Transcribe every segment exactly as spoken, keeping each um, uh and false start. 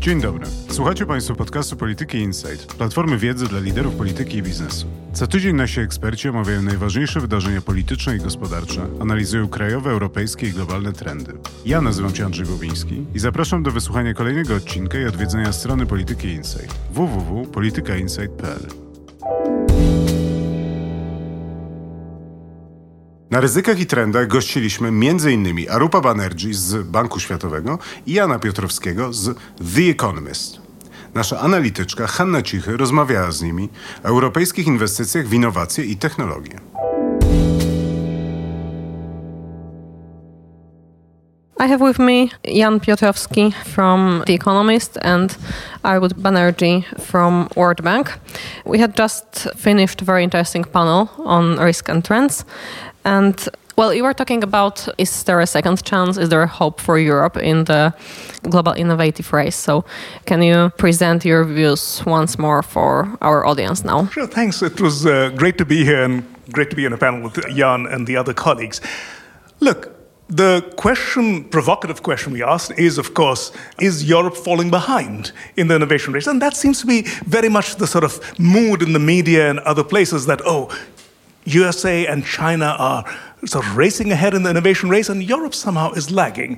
Dzień dobry. Słuchacie Państwo podcastu Polityki Insight, platformy wiedzy dla liderów polityki i biznesu. Co tydzień nasi eksperci omawiają najważniejsze wydarzenia polityczne i gospodarcze, analizują krajowe, europejskie i globalne trendy. Ja nazywam się Andrzej Bobiński i zapraszam do wysłuchania kolejnego odcinka i odwiedzenia strony Polityki Insight w w w kropka polityka insight kropka p l. Na ryzykach i trendach gościliśmy między innymi Arupa Banerjee z Banku Światowego i Jana Piotrowskiego z The Economist. Nasza analityczka Hanna Cichy rozmawiała z nimi o europejskich inwestycjach w innowacje i technologie. I have with me Jan Piotrowski from The Economist and Arupa Banerjee from World Bank. We had just finished a very interesting panel on risk and trends. And, well, you were talking about, is there a second chance? Is there a hope for Europe in the global innovative race? So can you present your views once more for our audience now? Sure, thanks. It was uh, great to be here and great to be on a panel with Jan and the other colleagues. Look, the question, provocative question we asked is, of course, is Europe falling behind in the innovation race? And that seems to be very much the sort of mood in the media and other places that, oh, U S A and China are sort of racing ahead in the innovation race and Europe somehow is lagging.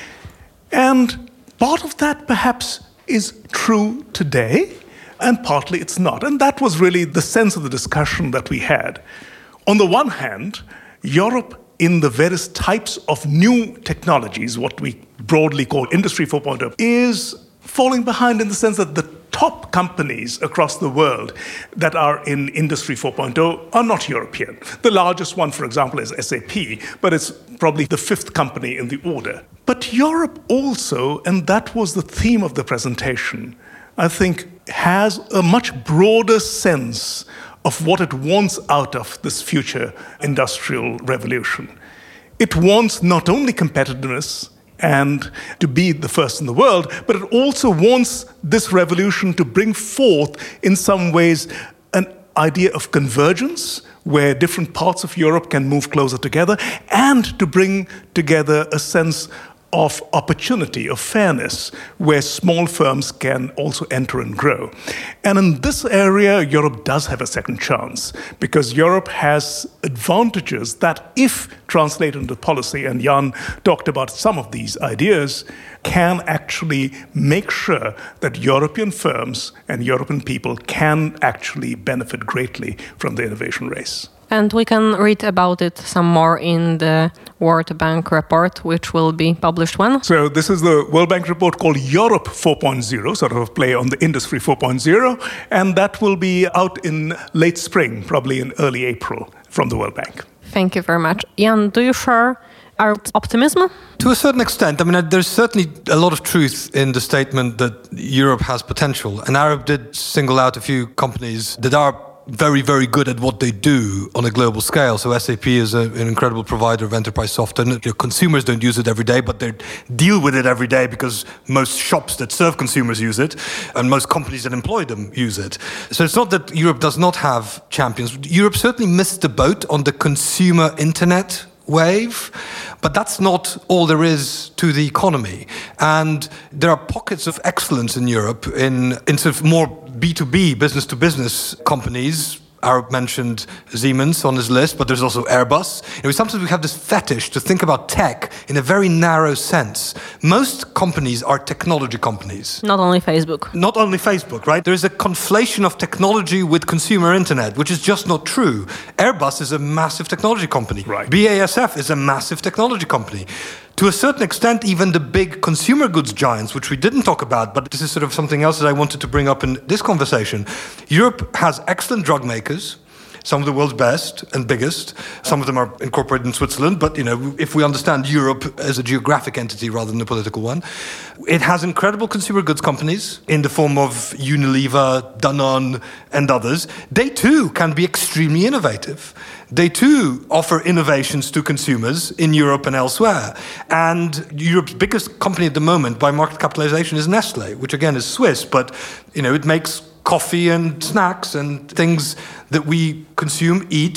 And part of that perhaps is true today and partly it's not. And that was really the sense of the discussion that we had. On the one hand, Europe in the various types of new technologies, what we broadly call Industry four point oh, is falling behind in the sense that the top companies across the world that are in Industry four point oh are not European. The largest one, for example, is S A P, but it's probably the fifth company in the order. But Europe also, and that was the theme of the presentation, I think has a much broader sense of what it wants out of this future industrial revolution. It wants not only competitiveness and to be the first in the world, but it also wants this revolution to bring forth, in some ways, an idea of convergence, where different parts of Europe can move closer together, and to bring together a sense of opportunity, of fairness, where small firms can also enter and grow. And in this area, Europe does have a second chance, because Europe has advantages that, if translated into policy, and Jan talked about some of these ideas, can actually make sure that European firms and European people can actually benefit greatly from the innovation race. And we can read about it some more in the World Bank report, which will be published when? So this is the World Bank report called Europe four point oh, sort of a play on the Industry four point oh, and that will be out in late spring, probably in early April, from the World Bank. Thank you very much. Jan, do you share our optimism? To a certain extent. I mean, there's certainly a lot of truth in the statement that Europe has potential. And Arab did single out a few companies that are very, very good at what they do on a global scale. So S A P is a, an incredible provider of enterprise software. You know, consumers don't use it every day, but they deal with it every day because most shops that serve consumers use it, and most companies that employ them use it. So it's not that Europe does not have champions. Europe certainly missed the boat on the consumer internet wave, but that's not all there is to the economy. And there are pockets of excellence in Europe in, in sort of more B two B, business-to-business companies. Arab mentioned Siemens on his list, but there's also Airbus. You know, sometimes we have this fetish to think about tech in a very narrow sense. Most companies are technology companies. Not only Facebook. Not only Facebook, right? There's a conflation of technology with consumer internet, which is just not true. Airbus is a massive technology company. Right. B A S F is a massive technology company. To a certain extent, even the big consumer goods giants, which we didn't talk about, but this is sort of something else that I wanted to bring up in this conversation. Europe has excellent drug makers, some of the world's best and biggest. Some of them are incorporated in Switzerland, but you know, if we understand Europe as a geographic entity rather than a political one, it has incredible consumer goods companies in the form of Unilever, Danone, and others. They too can be extremely innovative. They too offer innovations to consumers in Europe and elsewhere. And Europe's biggest company at the moment by market capitalization is Nestle, which again is Swiss, but you know, it makes coffee and snacks and things that we consume, eat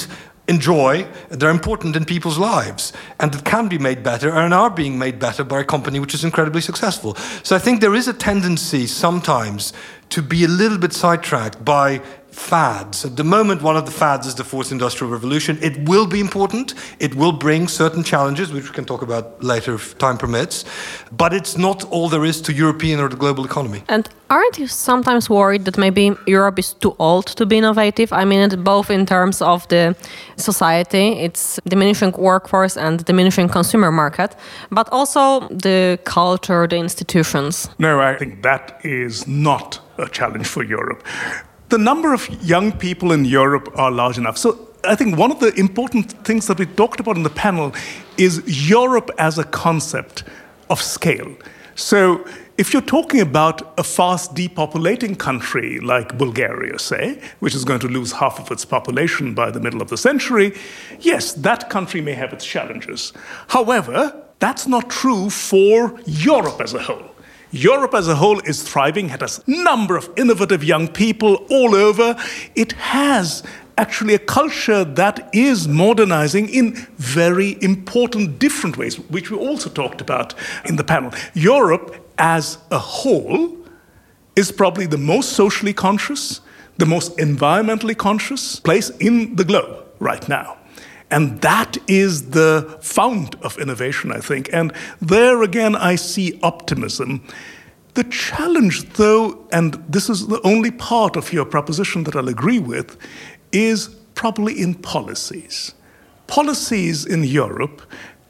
enjoy, they're important in people's lives, and that can be made better and are being made better by a company which is incredibly successful. So I think there is a tendency sometimes to be a little bit sidetracked by fads. At the moment, one of the fads is the fourth industrial revolution. It will be important. It will bring certain challenges, which we can talk about later if time permits. But it's not all there is to European or the global economy. And aren't you sometimes worried that maybe Europe is too old to be innovative? I mean, it, both in terms of the society, its diminishing workforce and diminishing consumer market, but also the culture, the institutions. No, I think that is not a challenge for Europe. The number of young people in Europe are large enough. So I think one of the important things that we talked about in the panel is Europe as a concept of scale. So if you're talking about a fast depopulating country like Bulgaria, say, which is going to lose half of its population by the middle of the century, yes, that country may have its challenges. However, that's not true for Europe as a whole. Europe as a whole is thriving, it has a number of innovative young people all over. It has actually a culture that is modernizing in very important different ways, which we also talked about in the panel. Europe as a whole is probably the most socially conscious, the most environmentally conscious place in the globe right now. And that is the fount of innovation, I think. And there again, I see optimism. The challenge, though, and this is the only part of your proposition that I'll agree with, is probably in policies. Policies in Europe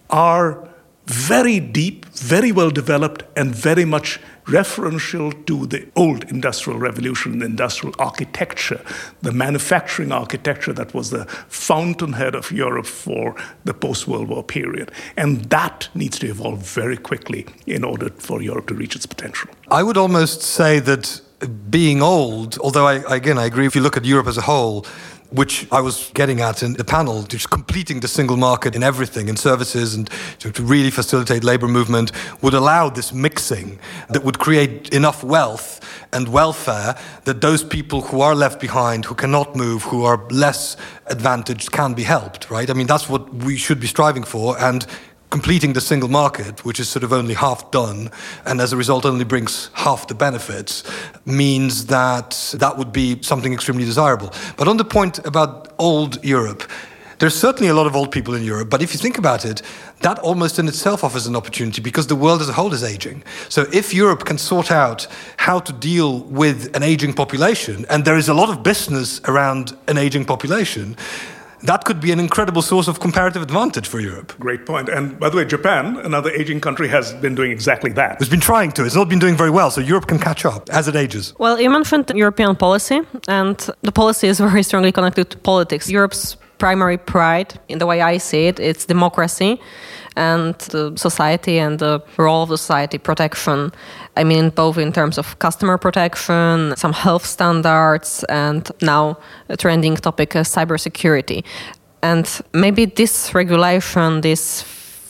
are very deep, very well developed, and very much referential to the old industrial revolution, the industrial architecture, the manufacturing architecture that was the fountainhead of Europe for the post-World War period. And that needs to evolve very quickly in order for Europe to reach its potential. I would almost say that being old, although I, again, I agree, if you look at Europe as a whole, which I was getting at in the panel, just completing the single market in everything, in services, and to, to really facilitate labor movement, would allow this mixing that would create enough wealth and welfare that those people who are left behind, who cannot move, who are less advantaged, can be helped, right? I mean, that's what we should be striving for, and completing the single market, which is sort of only half done, and as a result only brings half the benefits, means that that would be something extremely desirable. But on the point about old Europe, there's certainly a lot of old people in Europe, but if you think about it, that almost in itself offers an opportunity because the world as a whole is aging. So if Europe can sort out how to deal with an aging population, and there is a lot of business around an aging population, that could be an incredible source of comparative advantage for Europe. Great point. And by the way, Japan, another aging country, has been doing exactly that. It's been trying to. It's not been doing very well, so Europe can catch up as it ages. Well, you mentioned European policy, and the policy is very strongly connected to politics. Europe's primary pride, in the way I see it, it's democracy and the society and the role of the society, protection. I mean, both in terms of customer protection, some health standards, and now a trending topic, uh, cybersecurity. And maybe this regulation, this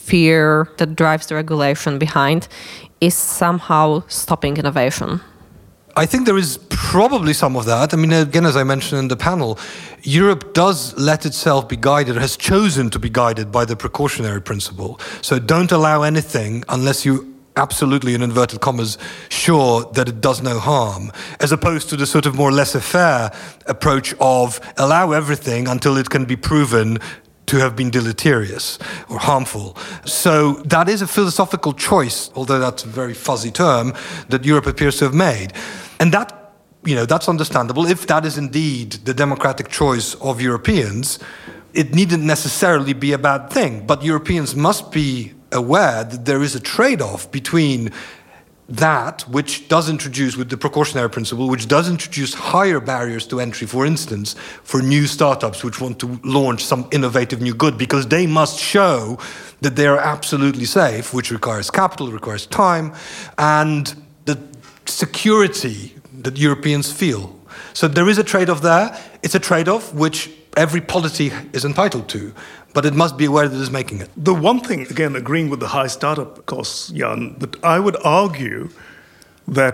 fear that drives the regulation behind, is somehow stopping innovation. I think there is probably some of that. I mean, again, as I mentioned in the panel, Europe does let itself be guided, has chosen to be guided by the precautionary principle. So don't allow anything unless you absolutely, in inverted commas, sure that it does no harm, as opposed to the sort of more laissez-faire approach of allow everything until it can be proven to have been deleterious or harmful. So that is a philosophical choice, although that's a very fuzzy term, that Europe appears to have made. And that, you know, that's understandable. If that is indeed the democratic choice of Europeans, it needn't necessarily be a bad thing. But Europeans must be aware that there is a trade-off between that, which does introduce, with the precautionary principle, which does introduce higher barriers to entry, for instance, for new startups which want to launch some innovative new good, because they must show that they are absolutely safe, which requires capital, requires time, and the security that Europeans feel. So there is a trade-off there. It's a trade-off which every polity is entitled to, but it must be aware that it is making it. The one thing, again, agreeing with the high startup costs, Jan, that I would argue that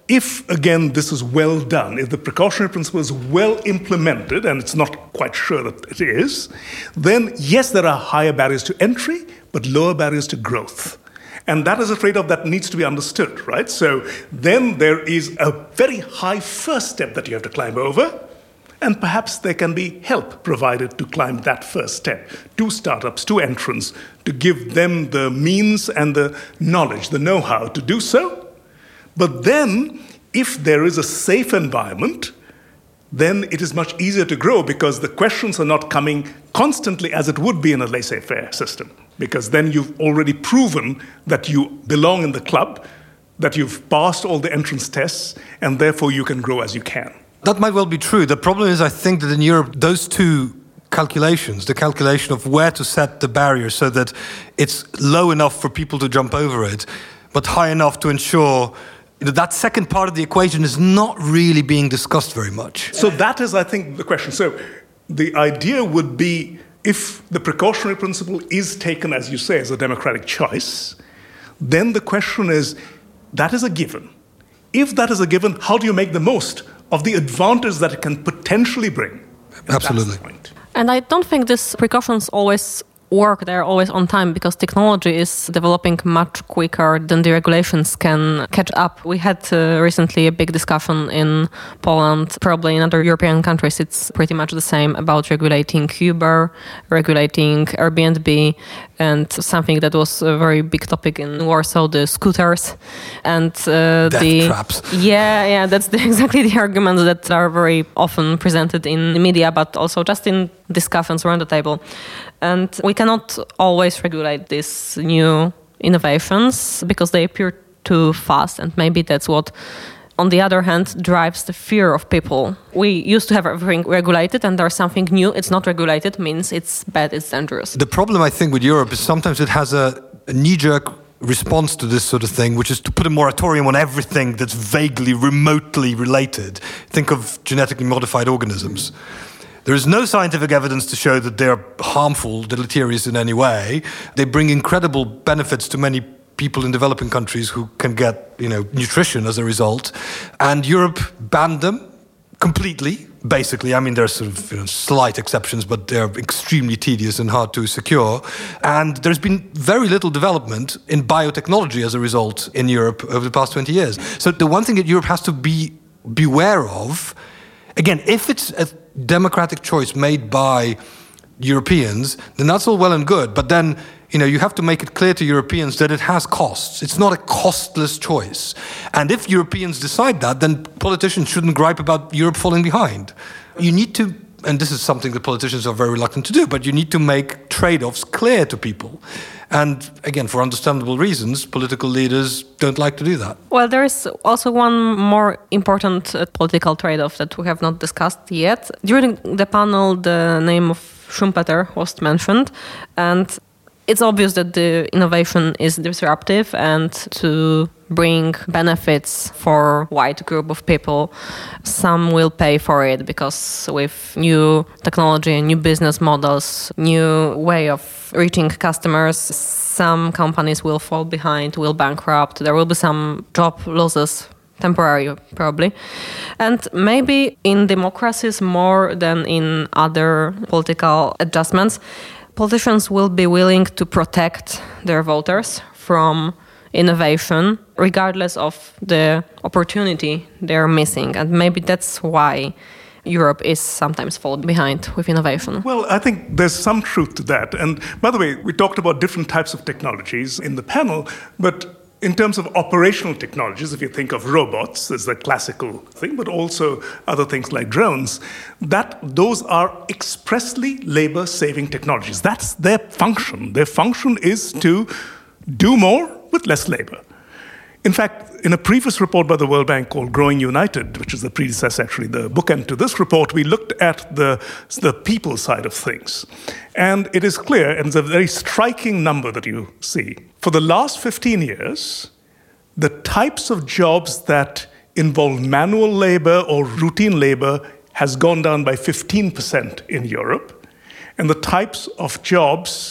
if, again, this is well done, if the precautionary principle is well implemented, and it's not quite sure that it is, then yes, there are higher barriers to entry, but lower barriers to growth. And that is a trade-off that needs to be understood, right? So then there is a very high first step that you have to climb over, and perhaps there can be help provided to climb that first step to startups, to entrants, to give them the means and the knowledge, the know-how to do so. But then, if there is a safe environment, then it is much easier to grow because the questions are not coming constantly as it would be in a laissez-faire system. Because then you've already proven that you belong in the club, that you've passed all the entrance tests, and therefore you can grow as you can. That might well be true. The problem is, I think that in Europe, those two calculations, the calculation of where to set the barrier so that it's low enough for people to jump over it, but high enough to ensure you know, that second part of the equation is not really being discussed very much. So that is, I think, the question. So the idea would be, if the precautionary principle is taken, as you say, as a democratic choice, then the question is, that is a given. If that is a given, how do you make the most of the advantage that it can potentially bring? And absolutely. That's the point. And I don't think these precautions always work, they're always on time because technology is developing much quicker than the regulations can catch up. We had uh, recently a big discussion in Poland, probably in other European countries it's pretty much the same, about regulating Uber, regulating Airbnb, and something that was a very big topic in Warsaw, the scooters and uh, Death the traps. Yeah, yeah, that's the, exactly the arguments that are very often presented in the media, but also just in discussions around the table. And we cannot always regulate these new innovations because they appear too fast, and maybe that's what, on the other hand, drives the fear of people. We used to have everything regulated, and there's something new, it's not regulated, means it's bad, it's dangerous. The problem, I think, with Europe is sometimes it has a, a knee-jerk response to this sort of thing, which is to put a moratorium on everything that's vaguely, remotely related. Think of genetically modified organisms. There is no scientific evidence to show that they're harmful, deleterious in any way. They bring incredible benefits to many people in developing countries who can get, you know, nutrition as a result. And Europe banned them completely, basically. I mean, there are sort of you know, slight exceptions, but they're extremely tedious and hard to secure. And there's been very little development in biotechnology as a result in Europe over the past twenty years. So the one thing that Europe has to be beware of, again, if it's a democratic choice made by Europeans, then that's all well and good. But then, you know, you have to make it clear to Europeans that it has costs. It's not a costless choice. And if Europeans decide that, then politicians shouldn't gripe about Europe falling behind. You need to, and this is something that politicians are very reluctant to do, but you need to make trade-offs clear to people. And again, for understandable reasons, political leaders don't like to do that. Well, there is also one more important uh, political trade-off that we have not discussed yet. During the panel, the name of Schumpeter was mentioned, and it's obvious that the innovation is disruptive and to bring benefits for a wide group of people. Some will pay for it because with new technology, new business models, new way of reaching customers, some companies will fall behind, will bankrupt. There will be some job losses, temporary probably. And maybe in democracies more than in other political adjustments, politicians will be willing to protect their voters from innovation, regardless of the opportunity they're missing. And maybe that's why Europe is sometimes falling behind with innovation. Well, I think there's some truth to that. And by the way, we talked about different types of technologies in the panel, but in terms of operational technologies, if you think of robots as the classical thing, but also other things like drones, that those are expressly labor-saving technologies. That's their function. Their function is to do more with less labor. In fact, in a previous report by the World Bank called Growing United, which is the predecessor, actually, the bookend to this report, we looked at the, the people side of things. And it is clear, and it's a very striking number that you see. For the last fifteen years, the types of jobs that involve manual labor or routine labor has gone down by fifteen percent in Europe. And the types of jobs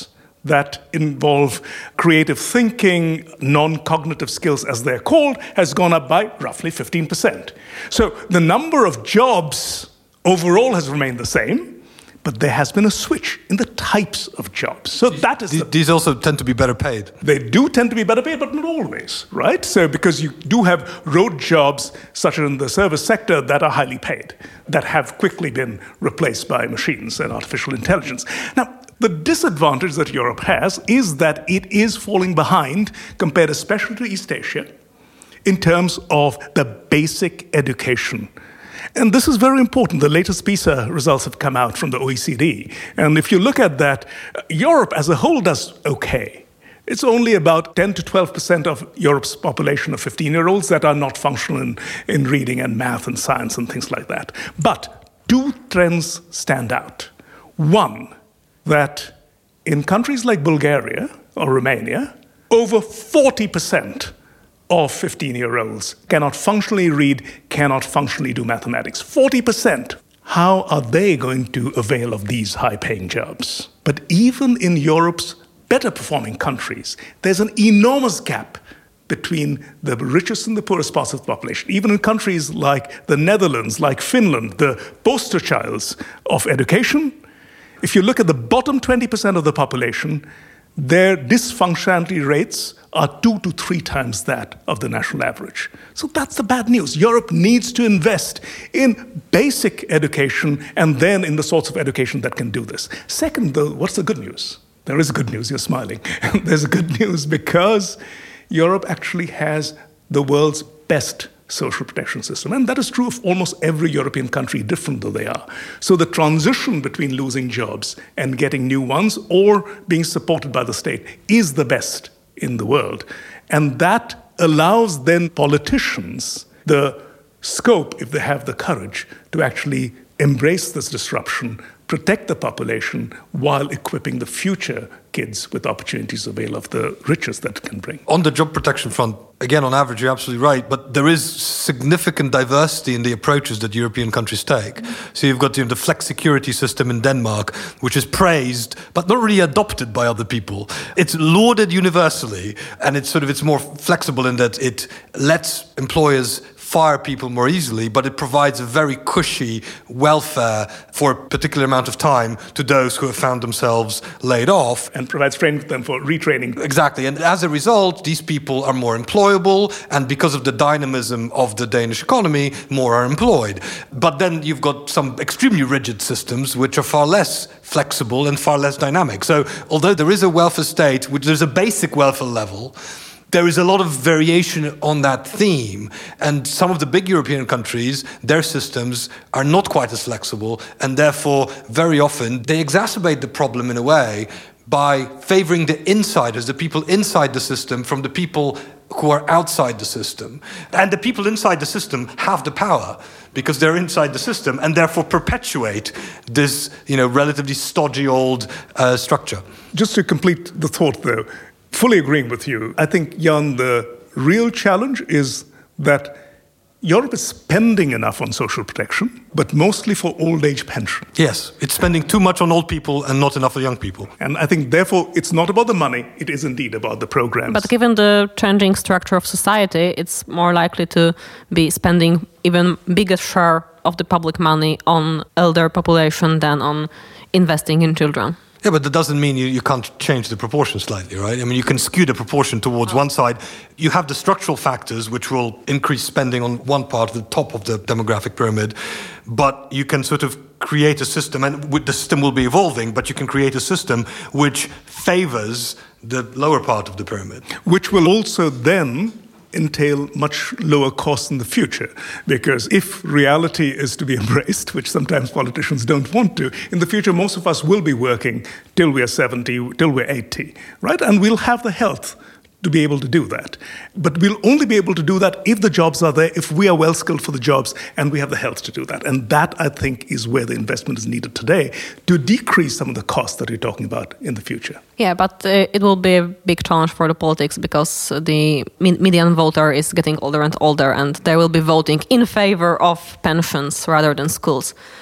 that involve creative thinking, non-cognitive skills as they're called, has gone up by roughly fifteen percent. So the number of jobs overall has remained the same, but there has been a switch in the types of jobs. So that is... These, the, these also tend to be better paid. They do tend to be better paid, but not always, right? So because you do have road jobs, such as in the service sector, that are highly paid, that have quickly been replaced by machines and artificial intelligence. Now, the disadvantage that Europe has is that it is falling behind, compared especially to East Asia, in terms of the basic education. And this is very important. The latest PISA results have come out from the O E C D. And if you look at that, Europe as a whole does okay. It's only about ten to twelve percent of Europe's population of fifteen-year-olds that are not functional in, in reading and math and science and things like that. But two trends stand out. One, that in countries like Bulgaria or Romania, over forty percent of fifteen-year-olds cannot functionally read, cannot functionally do mathematics. forty percent. How are they going to avail of these high-paying jobs? But even in Europe's better-performing countries, there's an enormous gap between the richest and the poorest parts of the population. Even in countries like the Netherlands, like Finland, the poster childs of education, if you look at the bottom twenty percent of the population, their dysfunctionality rates are two to three times that of the national average. So that's the bad news. Europe needs to invest in basic education and then in the sorts of education that can do this. Second, though, what's the good news? There is good news, you're smiling. There's a good news because Europe actually has the world's best social protection system. And that is true of almost every European country, different though they are. So the transition between losing jobs and getting new ones or being supported by the state is the best in the world. And that allows then politicians the scope, if they have the courage, to actually embrace this disruption, protect the population while equipping the future kids with opportunities to avail of the riches that it can bring. On the job protection front, again, on average, you're absolutely right, but there is significant diversity in the approaches that European countries take. Mm-hmm. So you've got you know, the flex security system in Denmark, which is praised, but not really adopted by other people. It's lauded universally, and it's sort of it's more flexible in that it lets employers fire people more easily, but it provides a very cushy welfare for a particular amount of time to those who have found themselves laid off. And provides training for them for retraining. Exactly. And as a result, these people are more employable, and because of the dynamism of the Danish economy, more are employed. But then you've got some extremely rigid systems which are far less flexible and far less dynamic. So although there is a welfare state, which there's a basic welfare level, there is a lot of variation on that theme, and some of the big European countries, their systems are not quite as flexible, and therefore, very often, they exacerbate the problem in a way by favoring the insiders, the people inside the system, from the people who are outside the system. And the people inside the system have the power because they're inside the system and therefore perpetuate this, you know, relatively stodgy old uh, structure. Just to complete the thought, though, fully agreeing with you, I think, Jan, the real challenge is that Europe is spending enough on social protection, but mostly for old age pension. Yes, it's spending too much on old people and not enough for young people. And I think, therefore, it's not about the money, it is indeed about the programs. But given the changing structure of society, it's more likely to be spending even bigger share of the public money on elder population than on investing in children. Yeah, but that doesn't mean you, you can't change the proportion slightly, right? I mean, you can skew the proportion towards one side. You have the structural factors, which will increase spending on one part, the top of the demographic pyramid, but you can sort of create a system, and the system will be evolving, but you can create a system which favors the lower part of the pyramid. Which will also then entail much lower costs in the future. Because if reality is to be embraced, which sometimes politicians don't want to, in the future most of us will be working till we're seventy, till we're eighty, right? And we'll have the health to be able to do that. But we'll only be able to do that if the jobs are there, if we are well skilled for the jobs, and we have the health to do that. And that, I think, is where the investment is needed today to decrease some of the costs that you're talking about in the future. Yeah, but uh, it will be a big challenge for the politics because the median voter is getting older and older, and they will be voting in favor of pensions rather than schools.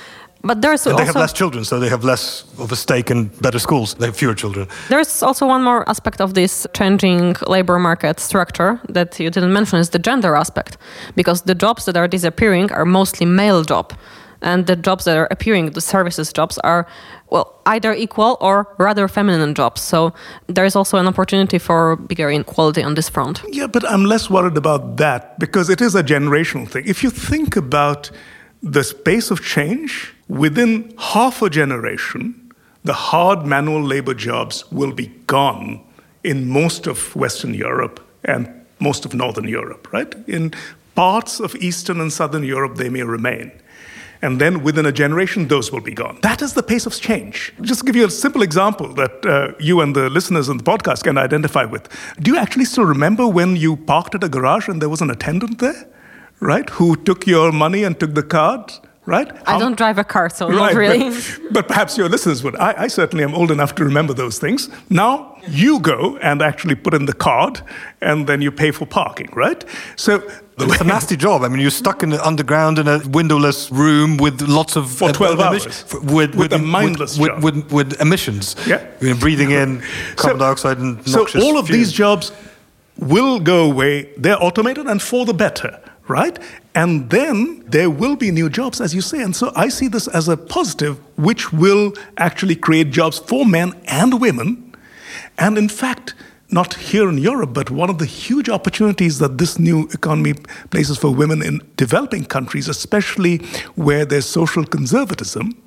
But there's and also... they have less children, so they have less of a stake in better schools. They have fewer children. There's also one more aspect of this changing labor market structure that you didn't mention, is the gender aspect. Because the jobs that are disappearing are mostly male jobs. And the jobs that are appearing, the services jobs, are, well, either equal or rather feminine jobs. So there is also an opportunity for bigger inequality on this front. Yeah, but I'm less worried about that because it is a generational thing. If you think about the space of change, within half a generation, the hard manual labor jobs will be gone in most of Western Europe and most of Northern Europe, right? In parts of Eastern and Southern Europe, they may remain. And then within a generation, those will be gone. That is the pace of change. Just to give you a simple example that uh, you and the listeners on the podcast can identify with. Do you actually still remember when you parked at a garage and there was an attendant there, right, who took your money and took the card, right? I don't drive a car, so right, not really. But, but perhaps your listeners would. I, I certainly am old enough to remember those things. Now you go and actually put in the card and then you pay for parking, right? So it's a nasty job. I mean, you're stuck in the underground in a windowless room with lots of... For twelve uh, hours. Emis- with, with a mindless with, job. With, with, with emissions. Yeah. You're breathing in carbon so, dioxide and So noxious all of fumes. these jobs will go away. They're automated and for the better, right? And then there will be new jobs, as you say. And so I see this as a positive, which will actually create jobs for men and women. And in fact, not here in Europe, but one of the huge opportunities that this new economy places for women in developing countries, especially where there's social conservatism,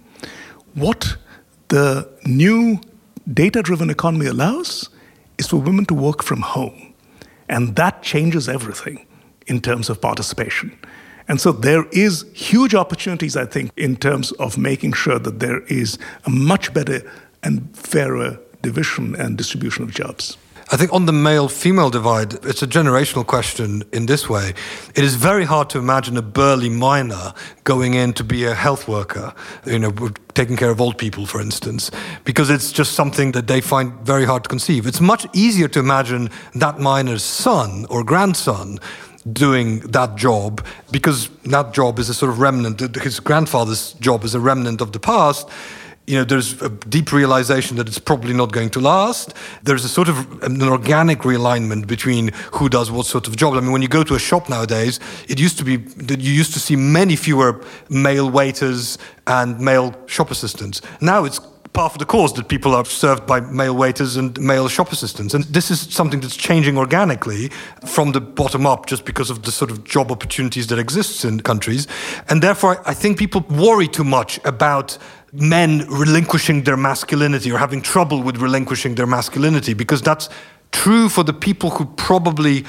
what the new data-driven economy allows is for women to work from home. And that changes everything in terms of participation. And so there is huge opportunities, I think, in terms of making sure that there is a much better and fairer division and distribution of jobs. I think on the male-female divide, it's a generational question in this way. It is very hard to imagine a burly miner going in to be a health worker, you know, taking care of old people, for instance, because it's just something that they find very hard to conceive. It's much easier to imagine that miner's son or grandson doing that job, because that job is a sort of remnant. His grandfather's job is a remnant of the past. You know, there's a deep realization that it's probably not going to last. There's a sort of an organic realignment between who does what sort of job. I mean, when you go to a shop nowadays, it used to be that you used to see many fewer male waiters and male shop assistants. Now it's par for the course that people are served by male waiters and male shop assistants. And this is something that's changing organically from the bottom up just because of the sort of job opportunities that exists in countries. And therefore, I think people worry too much about men relinquishing their masculinity or having trouble with relinquishing their masculinity, because that's true for the people who probably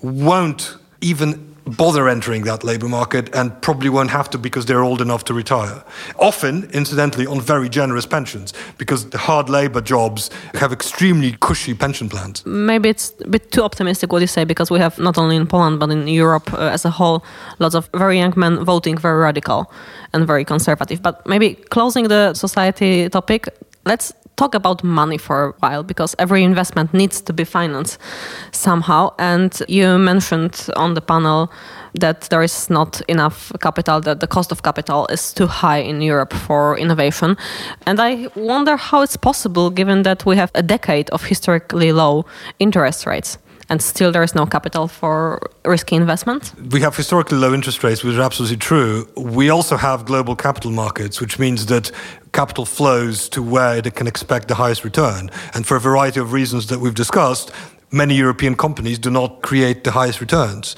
won't even bother entering that labor market and probably won't have to because they're old enough to retire. Often, incidentally, on very generous pensions, because the hard labor jobs have extremely cushy pension plans. Maybe it's a bit too optimistic what you say, because we have not only in Poland but in Europe uh, as a whole lots of very young men voting very radical and very conservative. But maybe closing the society topic, let's talk about money for a while, because every investment needs to be financed somehow. And you mentioned on the panel that there is not enough capital, that the cost of capital is too high in Europe for innovation. And I wonder how it's possible, given that we have a decade of historically low interest rates. And still there is no capital for risky investment? We have historically low interest rates, which is absolutely true. We also have global capital markets, which means that capital flows to where it can expect the highest return. And for a variety of reasons that we've discussed, many European companies do not create the highest returns.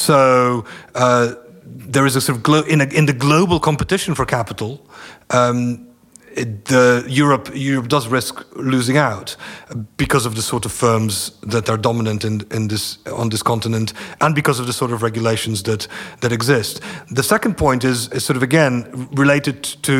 So uh, there is a sort of, glo- in, a, in the global competition for capital, um, It, the Europe Europe does risk losing out because of the sort of firms that are dominant in, in this on this continent, and because of the sort of regulations that that exist. The second point is, is sort of again related to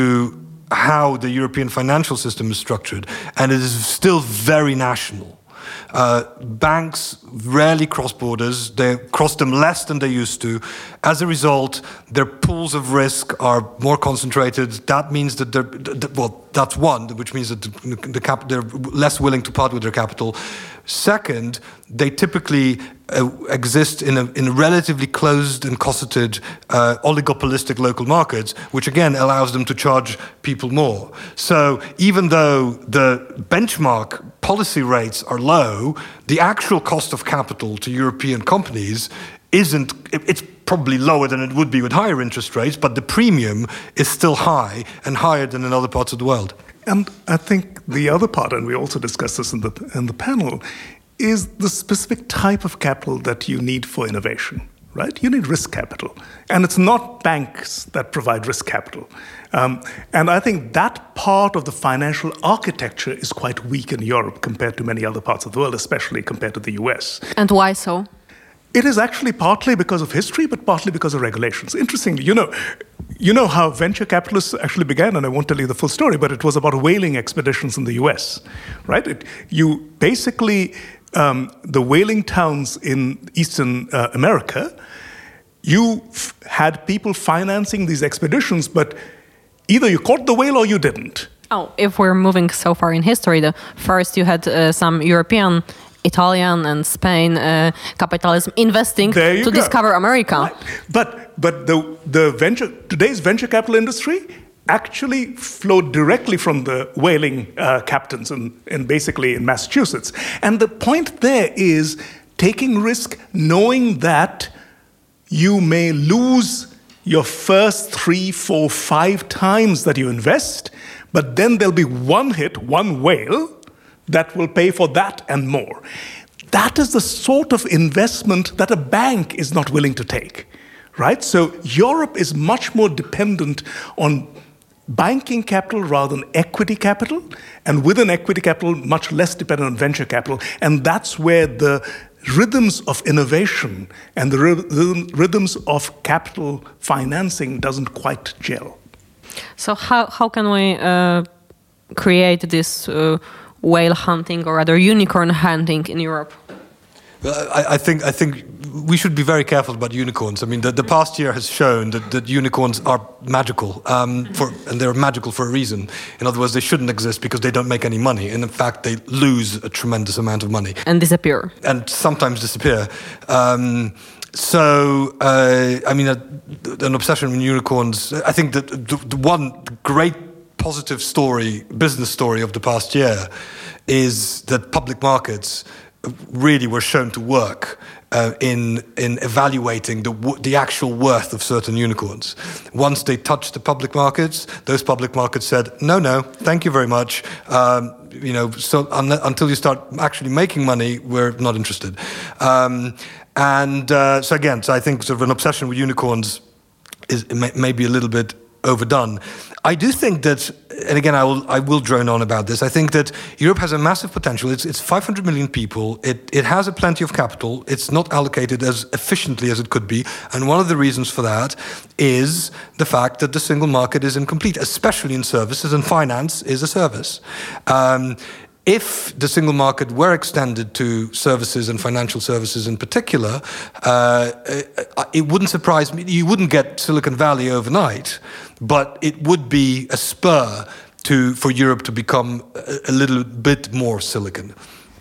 how the European financial system is structured, and it is still very national. Uh, banks rarely cross borders. They cross them less than they used to. As a result, their pools of risk are more concentrated. That means that they're, well, That's one, which means that the, the cap, they're less willing to part with their capital. Second, they typically uh, exist in a, in relatively closed and cosseted uh, oligopolistic local markets, which again allows them to charge people more. So even though the benchmark policy rates are low, the actual cost of capital to European companies isn't, it's probably lower than it would be with higher interest rates, but the premium is still high and higher than in other parts of the world. And I think the other part, and we also discussed this in the in the panel, is the specific type of capital that you need for innovation, right? You need risk capital. And it's not banks that provide risk capital. Um, and I think that part of the financial architecture is quite weak in Europe compared to many other parts of the world, especially compared to the U S. And why so? It is actually partly because of history, but partly because of regulations. Interestingly, you know, you know how venture capitalists actually began, and I won't tell you the full story, but it was about whaling expeditions in the U S, right? It, you basically, um, the whaling towns in Eastern uh, America, you f- had people financing these expeditions, but either you caught the whale or you didn't. Oh, if we're moving so far in history, the first you had uh, some European, Italian and Spain uh, capitalism investing to go. discover America. Right. But but the the venture today's venture capital industry actually flowed directly from the whaling uh, captains in, in basically in Massachusetts. And the point there is taking risk, knowing that you may lose your first three, four, five times that you invest, but then there'll be one hit, one whale that will pay for that and more. That is the sort of investment that a bank is not willing to take, right? So Europe is much more dependent on banking capital rather than equity capital, and within equity capital, much less dependent on venture capital. And that's where the rhythms of innovation and the rhythms of capital financing doesn't quite gel. So how, how can we uh, create this uh, whale hunting, or rather unicorn hunting in Europe? Well, I, I think I think we should be very careful about unicorns. I mean, the, the past year has shown that, that unicorns are magical, um, for, and they're magical for a reason. In other words, they shouldn't exist because they don't make any money, and in fact, they lose a tremendous amount of money and disappear, and sometimes disappear. Um, so, uh, I mean, a, an obsession with unicorns. I think that the, the one great positive story, business story of the past year is that public markets really were shown to work uh, in in evaluating the the actual worth of certain unicorns. Once they touched the public markets, those public markets said, no, no, thank you very much. Um, you know, so un- until you start actually making money, we're not interested. Um, and uh, so again, so I think sort of an obsession with unicorns is may, maybe a little bit overdone. I do think that, and again, I will I will drone on about this. I think that Europe has a massive potential. It's it's five hundred million people. It it has a plenty of capital. It's not allocated as efficiently as it could be, and one of the reasons for that is the fact that the single market is incomplete, especially in services, and finance is a service. Um, If the single market were extended to services and financial services in particular, uh, it wouldn't surprise me. You wouldn't get Silicon Valley overnight, but it would be a spur to for Europe to become a, a little bit more silicon.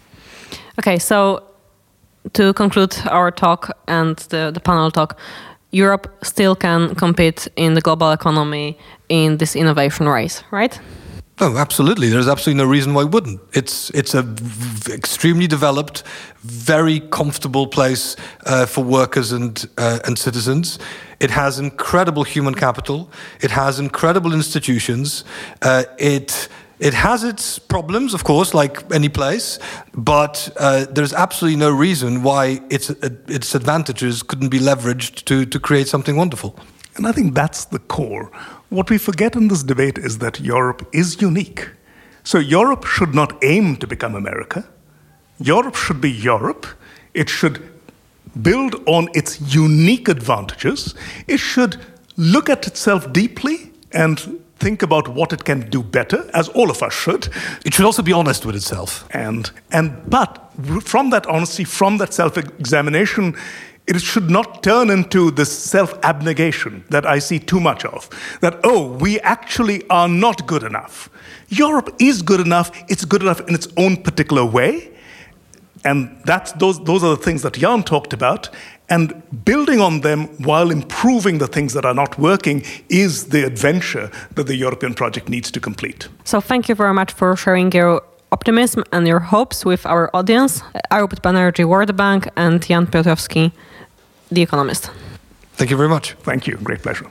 Okay, so to conclude our talk and the, the panel talk, Europe still can compete in the global economy in this innovation race, right? Oh, absolutely. There's absolutely no reason why it wouldn't. It's it's a v- extremely developed, very comfortable place uh, for workers and uh, and citizens. It has incredible human capital. It has incredible institutions. Uh, it it has its problems, of course, like any place. But uh, there's absolutely no reason why its uh, its advantages couldn't be leveraged to to create something wonderful. And I think that's the core. What we forget in this debate is that Europe is unique. So Europe should not aim to become America. Europe should be Europe. It should build on its unique advantages. It should look at itself deeply and think about what it can do better, as all of us should. It should also be honest with itself. And and but from that honesty, from that self-examination, it should not turn into this self-abnegation that I see too much of, that, oh, we actually are not good enough. Europe is good enough. It's good enough in its own particular way. And that's, those, those are the things that Jan talked about. And building on them while improving the things that are not working is the adventure that the European project needs to complete. So thank you very much for sharing your optimism and your hopes with our audience. Arub Banerjee, World Bank, and Jan Piotrowski, The Economist. Thank you very much. Thank you. Great pleasure.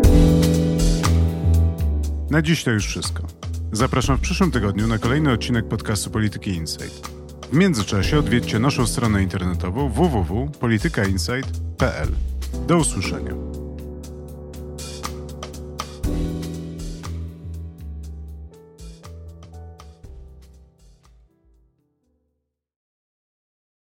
Na dziś to już wszystko. Zapraszam w przyszłym tygodniu na kolejny odcinek podcastu Polityki Insight. W międzyczasie odwiedźcie naszą stronę internetową w w w kropka polityka insight kropka p l. Do usłyszenia.